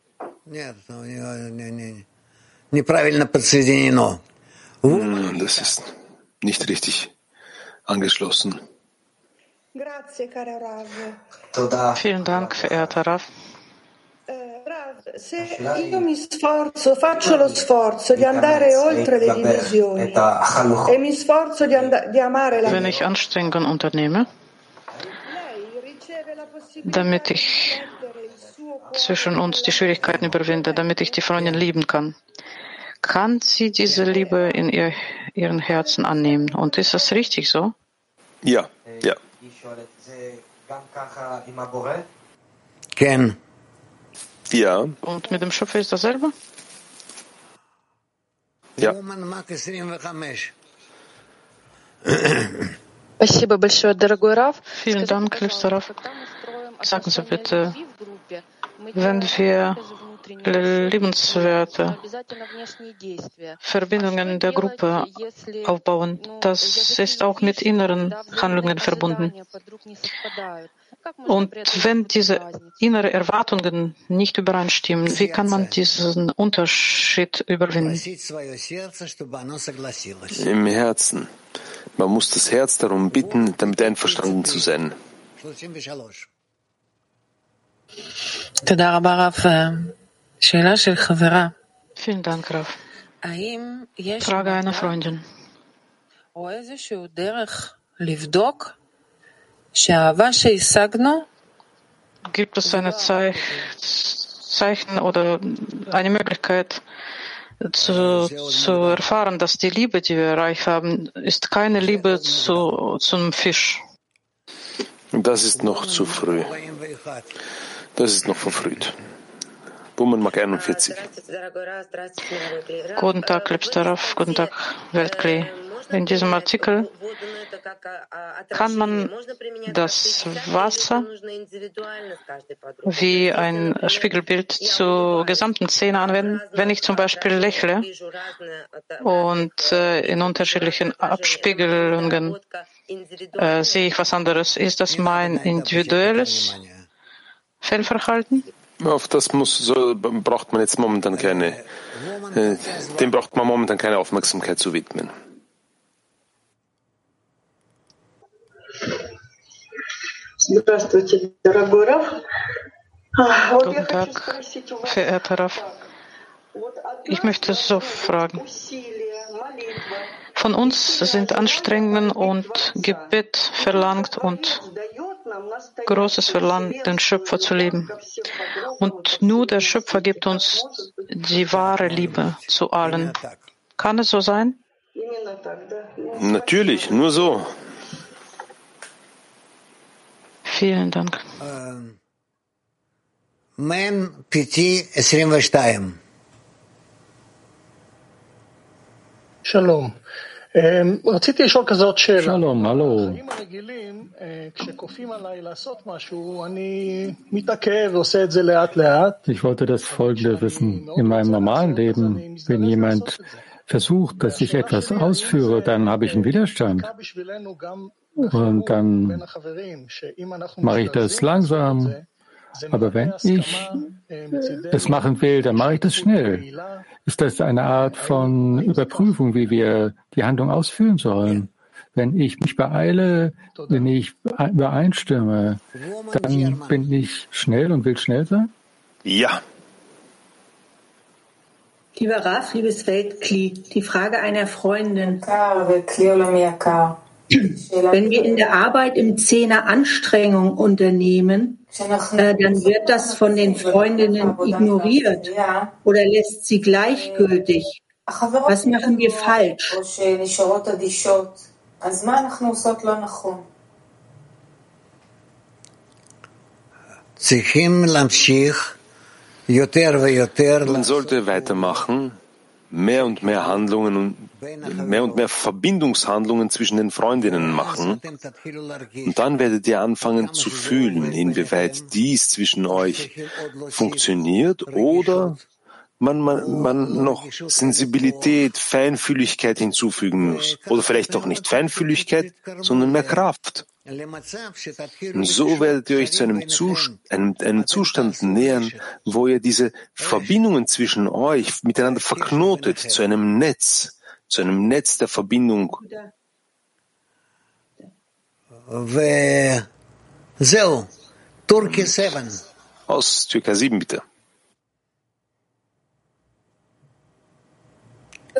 Das ist nicht richtig angeschlossen. Vielen Dank, verehrter Rav. Wenn ich Anstrengungen unternehme, damit ich zwischen uns die Schwierigkeiten überwinde, damit ich die Freundin lieben kann, kann sie diese Liebe in ihr, ihren Herzen annehmen? Und ist das richtig so? Ja, ja. Ken. Ja. Und mit dem Schöpfer ist dasselbe? Ja. Vielen Dank, liebster Rav. Sagen Sie bitte, wenn wir liebenswerte Verbindungen in der Gruppe aufbauen, das ist auch mit inneren Handlungen verbunden. Und wenn diese inneren Erwartungen nicht übereinstimmen, wie kann man diesen Unterschied überwinden? Im Herzen. Man muss das Herz darum bitten, damit einverstanden zu sein. Vielen Dank, Rav. Frage einer Freundin. Gibt es eine Ze- Zeichen oder eine Möglichkeit zu, zu erfahren, dass die Liebe, die wir erreicht haben, ist keine Liebe zu, zum Fisch? Das ist noch zu früh. Das ist noch verfrüht. Woman Mark einundvierzig. Guten Tag, liebster Rav. Guten Tag, Weltkli. In diesem Artikel kann man das Wasser wie ein Spiegelbild zur gesamten Szene anwenden. Wenn ich zum Beispiel lächle und äh, in unterschiedlichen Abspiegelungen äh, sehe ich was anderes, ist das mein individuelles Fehlverhalten? Auf das muss, so, braucht man jetzt momentan keine, äh, dem braucht man momentan keine Aufmerksamkeit zu widmen. Guten Tag, verehrter Rav. Ich möchte so fragen. Von uns sind Anstrengungen und Gebet verlangt und großes Verlangen, den Schöpfer zu lieben. Und nur der Schöpfer gibt uns die wahre Liebe zu allen. Kann es so sein? Natürlich, nur so. Vielen Dank. Man P T zweiundzwanzig. Shalom. רציתי לשאול כזאת שאלה. שלום, הלו. החיים הרגילים, כשכופים עליי לעשות משהו, אני מתעכב ועושה את זה לאט לאט. Ich wollte das Folgende wissen. In meinem normalen Leben, wenn jemand versucht, dass ich etwas ausführe, dann habe ich einen Widerstand. Und dann mache ich das langsam. Aber wenn ich es machen will, dann mache ich das schnell. Ist das eine Art von Überprüfung, wie wir die Handlung ausführen sollen? Wenn ich mich beeile, wenn ich übereinstimme, dann bin ich schnell und will schnell sein? Ja. Lieber Rav, liebes Weltkli, die Frage einer Freundin. Wenn wir in der Arbeit im Zehner Anstrengung unternehmen, äh, dann wird das von den Freundinnen ignoriert oder lässt sie gleichgültig. Was machen wir falsch? Man sollte weitermachen, mehr und mehr Handlungen und mehr und mehr Verbindungshandlungen zwischen den Freundinnen machen. Und dann werdet ihr anfangen zu fühlen, inwieweit dies zwischen euch funktioniert oder man, man, man noch Sensibilität, Feinfühligkeit hinzufügen muss. Oder vielleicht auch nicht Feinfühligkeit, sondern mehr Kraft. Und so werdet ihr euch zu einem, Zust- einem, einem Zustand nähern, wo ihr diese Verbindungen zwischen euch miteinander verknotet, zu einem Netz, zu einem Netz der Verbindung. Aus Türkei sieben, bitte.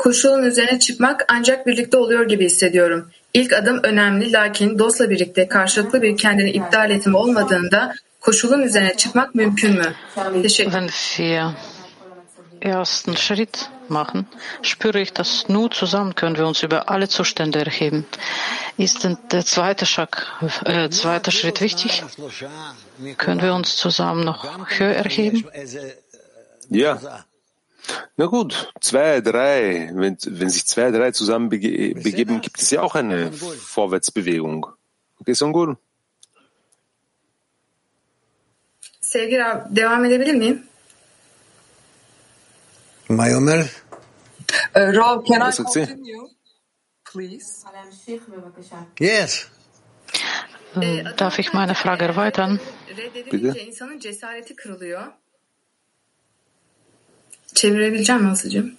koşulun üzerine çıkmak ancak birlikte oluyor gibi hissediyorum. İlk adım önemli, lakin dostla birlikte karşılıklı bir kendini iptal etme olmadığında koşulun üzerine çıkmak mümkün mü? Teşekkür ederim. Ersten Schritt machen, spüre ich, dass nur zusammen können wir uns über alle Zustände erheben. Ist denn der zweite, Schritt, äh, zweite Schritt wichtig? Können wir uns zusammen noch höher erheben? Ja. Na gut, zwei, drei. Wenn, wenn sich zwei, drei zusammen bege- begeben, gibt es ja auch eine Vorwärtsbewegung. Okay, Songur? Sevgili Rav, devam edebilir miyim? Mayomer? Rav, can I Was sagt sie? continue, please? Yes. Darf ich meine Frage erweitern? Reddedilince insanın cesareti kırılıyor. Çevirebileceğim mi Aslı'cığım?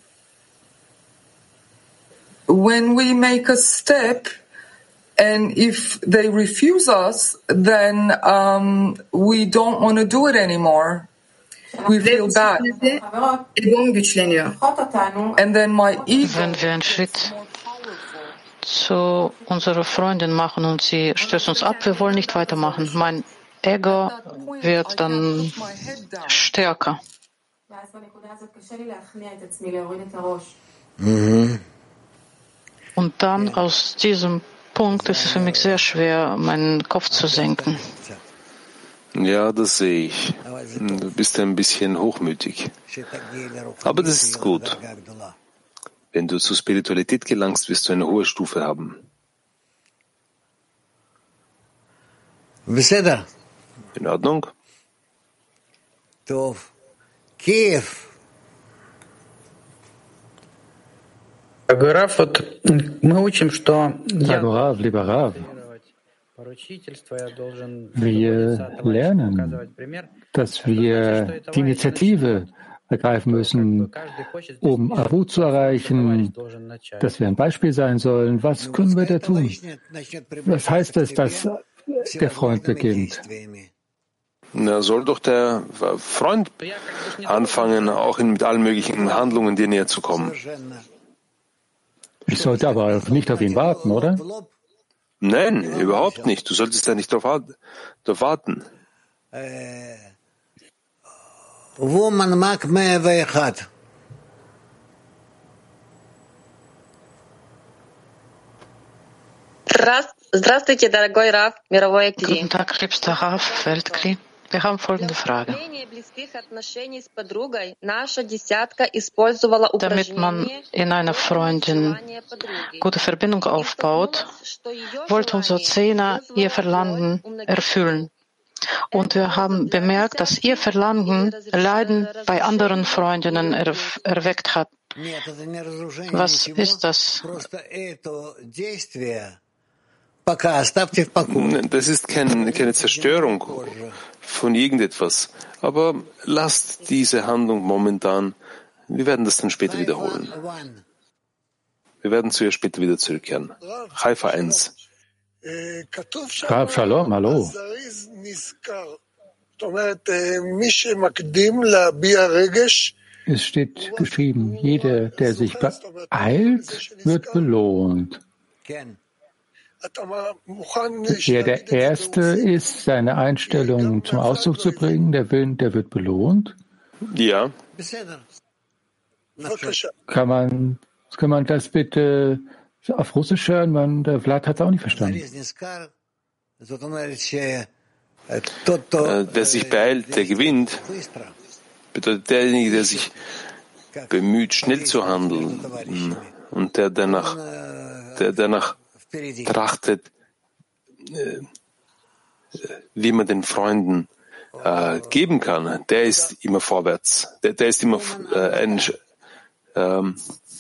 When we make a step, and if they refuse us, then um, we don't want to do it anymore. We feel bad. Egom güçleniyor. And then my ego. Wenn wir einen Schritt zu unserer Freundin machen und sie stößt uns ab, wir wollen nicht weitermachen. Mein Ego wird dann stärker. Mhm. Und dann aus diesem Punkt ist es für mich sehr schwer, meinen Kopf zu senken. Ja, das sehe ich. Du bist ein bisschen hochmütig. Aber das ist gut. Wenn du zur Spiritualität gelangst, wirst du eine hohe Stufe haben. In Ordnung? Kiew. Рав, вот мы учим, что я Rav, lieber Rav, wir lernen, dass wir die Initiative ergreifen müssen, um Arut zu erreichen, dass wir ein Beispiel sein sollen. Was können wir da tun? Was heißt es, dass der Freund beginnt? Na, soll doch der Freund anfangen, auch mit allen möglichen Handlungen dir näher zu kommen. Ich sollte aber nicht auf ihn warten, oder? Nein, überhaupt nicht. Du solltest ja nicht darauf warten. Woman Mark Mehrweg. Здравствуйте, дорогой Рав, мировой актив. Guten Tag, liebster Rav, Weltkli. Wir haben folgende Frage. Damit man in einer Freundin gute Verbindung aufbaut, wollte unser Zehner ihr Verlangen erfüllen. Und wir haben bemerkt, dass ihr Verlangen Leiden bei anderen Freundinnen er erweckt hat. Was ist das? Das ist kein, keine Zerstörung von irgendetwas. Aber lasst diese Handlung momentan. Wir werden das dann später wiederholen. Wir werden zu ihr später wieder zurückkehren. Haifa eins. Rav Shalom, hallo. Es steht geschrieben, jeder, der sich beeilt, wird belohnt. Wer der Erste ist, seine Einstellung zum Ausdruck zu bringen, der Willen, der wird belohnt. Ja. Kann man, kann man das bitte auf Russisch hören? Man, der Vlad hat es auch nicht verstanden. Äh, wer sich beeilt, der gewinnt. Bedeutet derjenige, der sich bemüht, schnell zu handeln und der danach, der danach trachtet, äh, wie man den Freunden äh, geben kann, der ist immer vorwärts. Der, der ist immer äh, ein, ähm,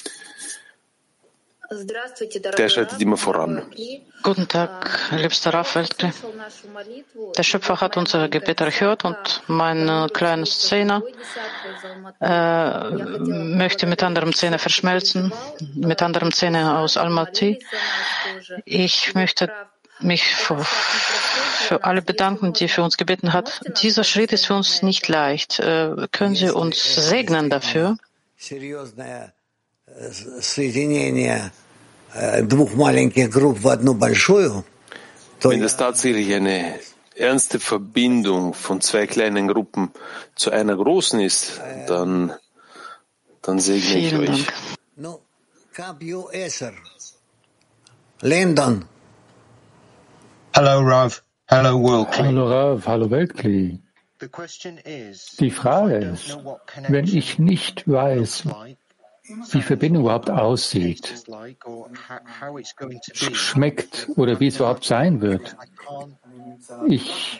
der schreitet immer voran. Guten Tag, liebster Rav Weltkli. Der Schöpfer hat unser Gebet erhört und mein kleines Zehner äh, möchte mit anderem Zehner verschmelzen, mit anderem Zehner aus Almaty. Ich möchte mich für, für alle bedanken, die für uns gebeten hat. Dieser Schritt ist für uns nicht leicht. Äh, können Sie uns segnen dafür? Wenn das tatsächlich eine ernste Verbindung von zwei kleinen Gruppen zu einer großen ist, dann, dann segne ich euch. Lyndon. Hallo Rav. Hallo Weltkli. Hallo Rav, hallo Weltkli. Die Frage ist, wenn ich nicht weiß, wie Verbindung überhaupt aussieht, schmeckt oder wie es überhaupt sein wird. Ich,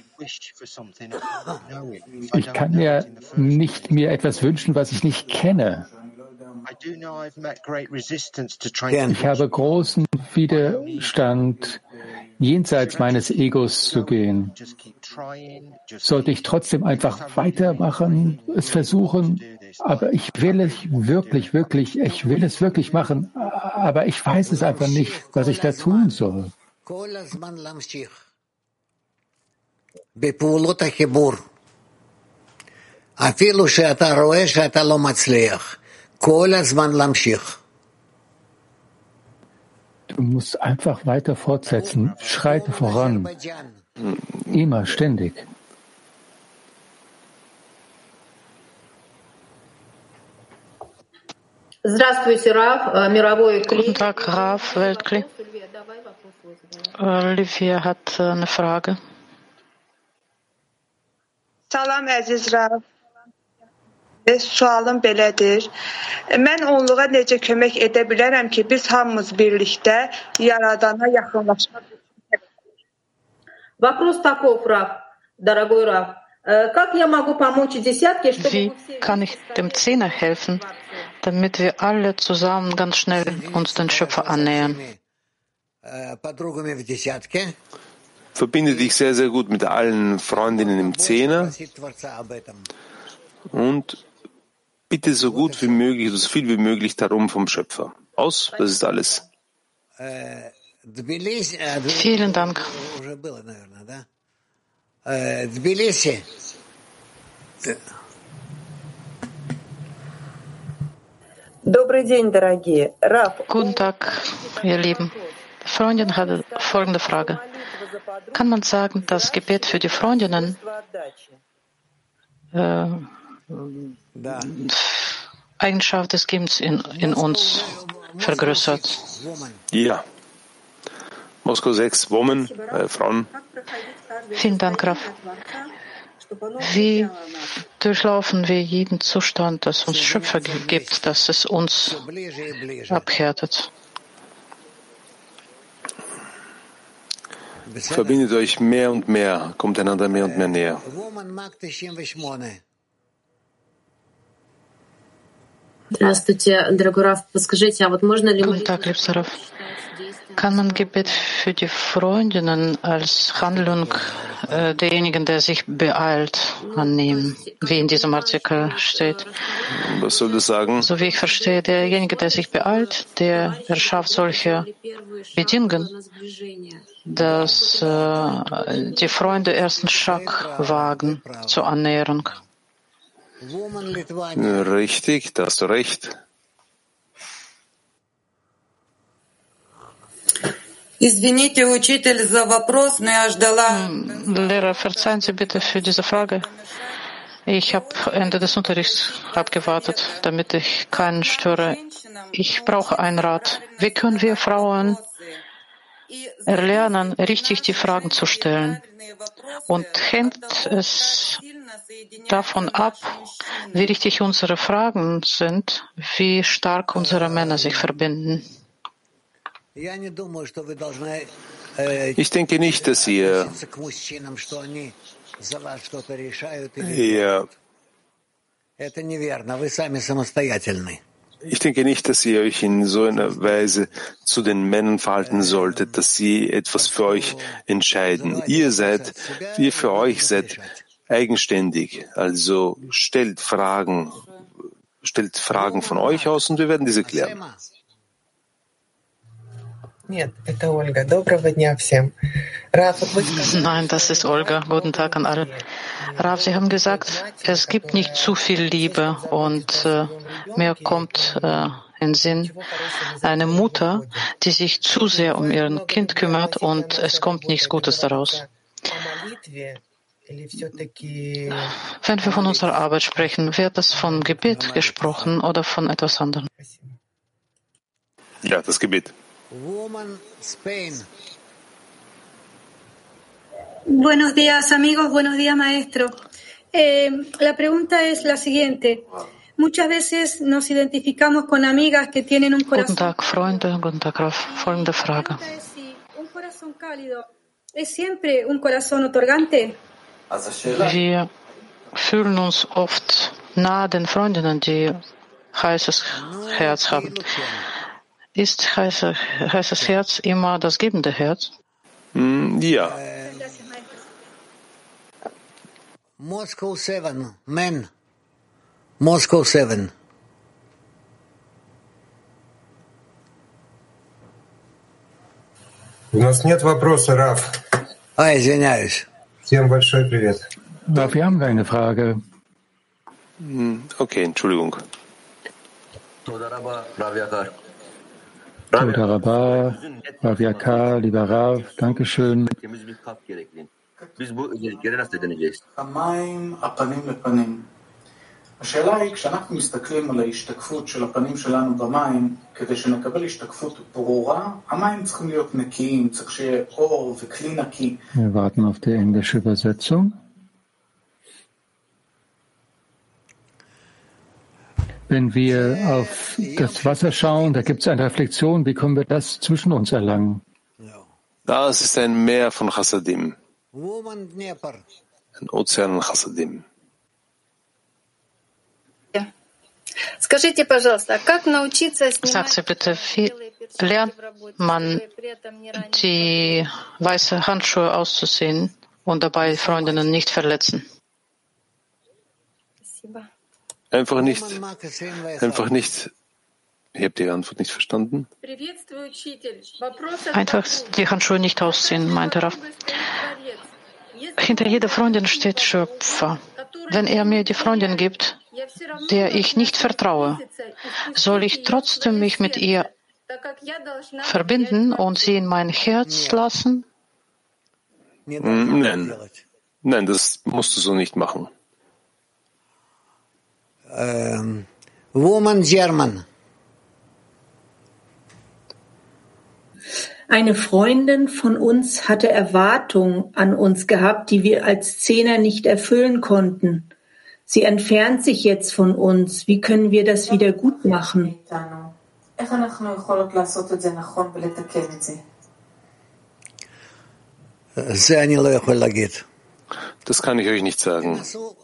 ich kann mir nicht mir etwas wünschen, was ich nicht kenne. Ich habe großen Widerstand, jenseits meines Egos zu gehen. Sollte ich trotzdem einfach weitermachen, es versuchen, aber ich will es wirklich, wirklich, ich will es wirklich machen, aber ich weiß es einfach nicht, was ich da tun soll. Du musst einfach weiter fortsetzen, schreite voran, immer, ständig. Guten Tag, Rav Weltkli. Olivia hat eine Frage. Salam əziz Rav. Sualım belədir. Mən onluğa necə kömək edə bilərəm ki, biz hamımız birlikdə Yaradana yaxınlaşmaq üçün? Вопрос таков, Рав, дорогой Рав. Как я могу помочь десятке, чтобы Wie kann ich dem Zehner helfen, damit wir alle zusammen ganz schnell uns den Schöpfer annähern? Verbinde dich sehr, sehr gut mit allen Freundinnen im Zehner und bitte so gut wie möglich, so viel wie möglich darum vom Schöpfer. Aus, das ist alles. Vielen Dank. Guten Tag, ihr Lieben. Freundin hatte folgende Frage. Kann man sagen, das Gebet für die Freundinnen äh, Eigenschaft des Gebens in, in uns vergrößert? Ja. Moskau sechs, Women, äh, Frauen. Vielen Dank, Graf. Wie durchlaufen wir jeden Zustand, das uns Schöpfer gibt, dass es uns abhärtet? Verbindet euch mehr und mehr, kommt einander mehr und mehr näher. Guten Tag, liebster Rav. Kann man Gebet für die Freundinnen als Handlung äh, derjenigen, der sich beeilt, annehmen, wie in diesem Artikel steht? Was soll das sagen? So wie ich verstehe, derjenige, der sich beeilt, der erschafft solche Bedingungen, dass äh, die Freunde ersten Schritt wagen zur Annäherung. Richtig, da hast du recht. Lehrer, verzeihen Sie bitte für diese Frage. Ich habe Ende des Unterrichts abgewartet, damit ich keinen störe. Ich brauche einen Rat. Wie können wir Frauen erlernen, richtig die Fragen zu stellen? Und hängt es davon ab, wie richtig unsere Fragen sind, wie stark unsere Männer sich verbinden? Ich denke nicht, dass ihr ihr Ich denke nicht, dass ihr euch in so einer Weise zu den Männern verhalten solltet, dass sie etwas für euch entscheiden. Ihr seid, ihr für euch seid eigenständig. Also stellt Fragen, stellt Fragen von euch aus und wir werden diese klären. Nein, das ist Olga. Guten Tag an alle. Rav, Sie haben gesagt, es gibt nicht zu viel Liebe und äh, mehr kommt äh, Sinn eine Mutter, die sich zu sehr um ihr Kind kümmert und es kommt nichts Gutes daraus. Wenn wir von unserer Arbeit sprechen, wird das von Gebet gesprochen oder von etwas anderem? Ja, das Gebet. Buenos días, amigos. Buenos días, maestro. Eh, la pregunta es la siguiente. Muchas veces nos identificamos con amigas que tienen un corazón. Guten Tag, Freunde. Guten Tag, Raf. Folgende Frage. Un corazón cálido es siempre un corazón otorgante. Wir fühlen uns oft nahe den Freundinnen, die heißes Herz haben. Ist heiße, heißes Herz immer das gebende Herz? Mm, ja. Moscow seven, men. Moscow seven. У нас нет вопроса, Раф. А, извиняюсь. Всем большой привет. Raf, wir haben keine Frage. Okay, Entschuldigung. Toda Rabba, Rav Yakar, lieber Rav, Dankeschön. השאלה היא, כשאנחנו מסתכלים על ההשתקפות של הפנים שלנו במים, כדי שנקבל השתקפות ברורה, המים צריכים להיות נקיים, צריך שיהיה אור וכלי נקי. Wir warten auf die englische Übersetzung. Wenn wir auf das Wasser schauen, da gibt es eine Reflexion, wie können wir das zwischen uns erlangen? Das ist ein Meer von Chassadim, ein Ozean von Chassadim. Sagt sie bitte, wie lernt man die weißen Handschuhe auszuziehen und dabei Freundinnen nicht verletzen? Einfach nicht, einfach nicht, ich habe die Antwort nicht verstanden. Einfach die Handschuhe nicht ausziehen, meinte Raf. Hinter jeder Freundin steht Schöpfer. Wenn er mir die Freundin gibt, der ich nicht vertraue, soll ich trotzdem mich mit ihr verbinden und sie in mein Herz lassen? Nein, nein, das musst du so nicht machen. Um, woman German. Eine Freundin von uns hatte Erwartungen an uns gehabt, die wir als Zehner nicht erfüllen konnten. Sie entfernt sich jetzt von uns. Wie können wir das wieder gut machen? Das kann ich euch nicht sagen.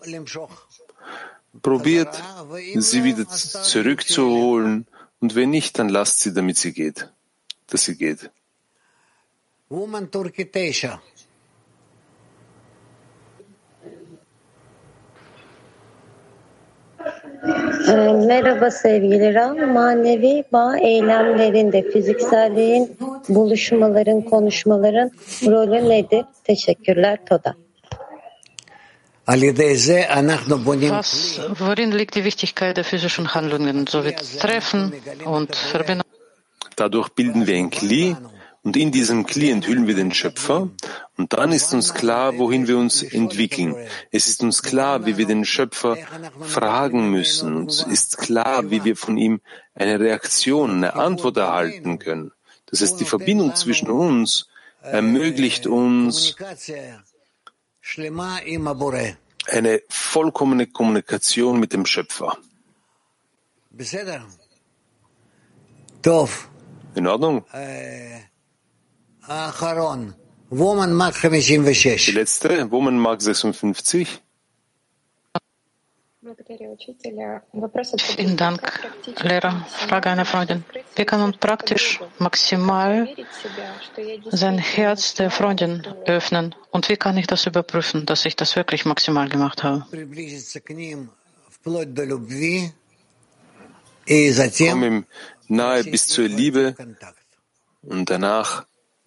Probiert, sie wieder zurückzuholen, und wenn nicht, dann lasst sie, damit sie geht, dass sie geht. Woman Turkey Tesha. Merhaba sevgili Ram. Manevi bağ eylemlerinde fizikselliğin, buluşmaların, konuşmaların rolü nedir? Teşekkürler. Toda. Was, worin liegt die Wichtigkeit der physischen Handlungen, so wie Treffen und Verbindung? Dadurch bilden wir ein Kli, und in diesem Kli enthüllen wir den Schöpfer, und dann ist uns klar, wohin wir uns entwickeln. Es ist uns klar, wie wir den Schöpfer fragen müssen. Uns ist klar, wie wir von ihm eine Reaktion, eine Antwort erhalten können. Das heißt, die Verbindung zwischen uns ermöglicht uns eine vollkommene Kommunikation mit dem Schöpfer. In Ordnung? Die letzte, Woman Mark sechsundfünfzig. Vielen Dank, Lehrer. Frage einer Freundin. Wie kann man praktisch maximal sein Herz der Freundin öffnen? Und wie kann ich das überprüfen, dass ich das wirklich maximal gemacht habe? Komm ihm nahe bis zur Liebe, und danach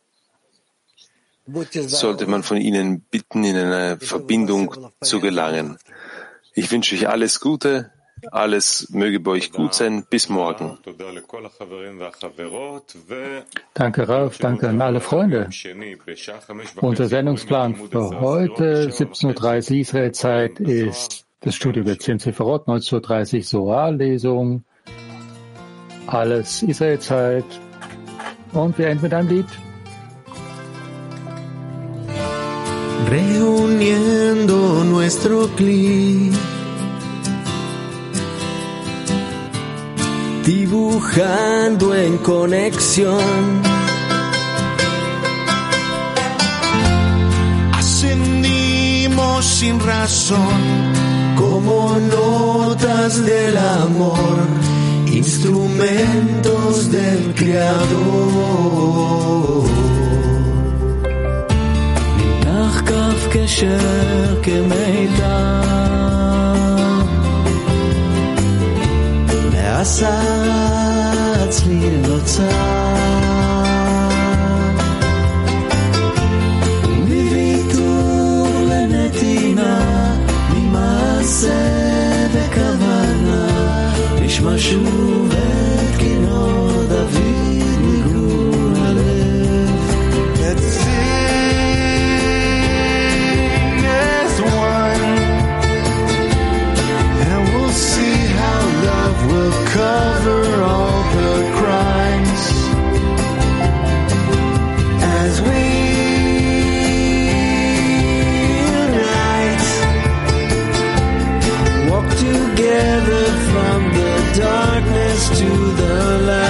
sollte man von ihnen bitten, in eine Verbindung zu gelangen. Ich wünsche euch alles Gute, Alles möge bei euch gut sein. Bis morgen. Danke, Rav. Danke an alle Freunde. Unser Sendungsplan für heute, siebzehn Uhr dreißig Israelzeit, ist das Studio über zehn Sephirot, neunzehn Uhr dreißig Soar-Lesung, alles Israelzeit. Und wir enden mit einem Lied. Reuniendo nuestro clic, dibujando en conexión, ascendimos sin razón, como notas del amor, instrumentos del Creador. כף קשר כמידע נעשה אצלי נוצר מוויתור לנתינה ממעשה וכוונה נשמע שוב את כינור דוד מגרון הלב will cover all the crimes as we unite, walk together from the darkness to the light.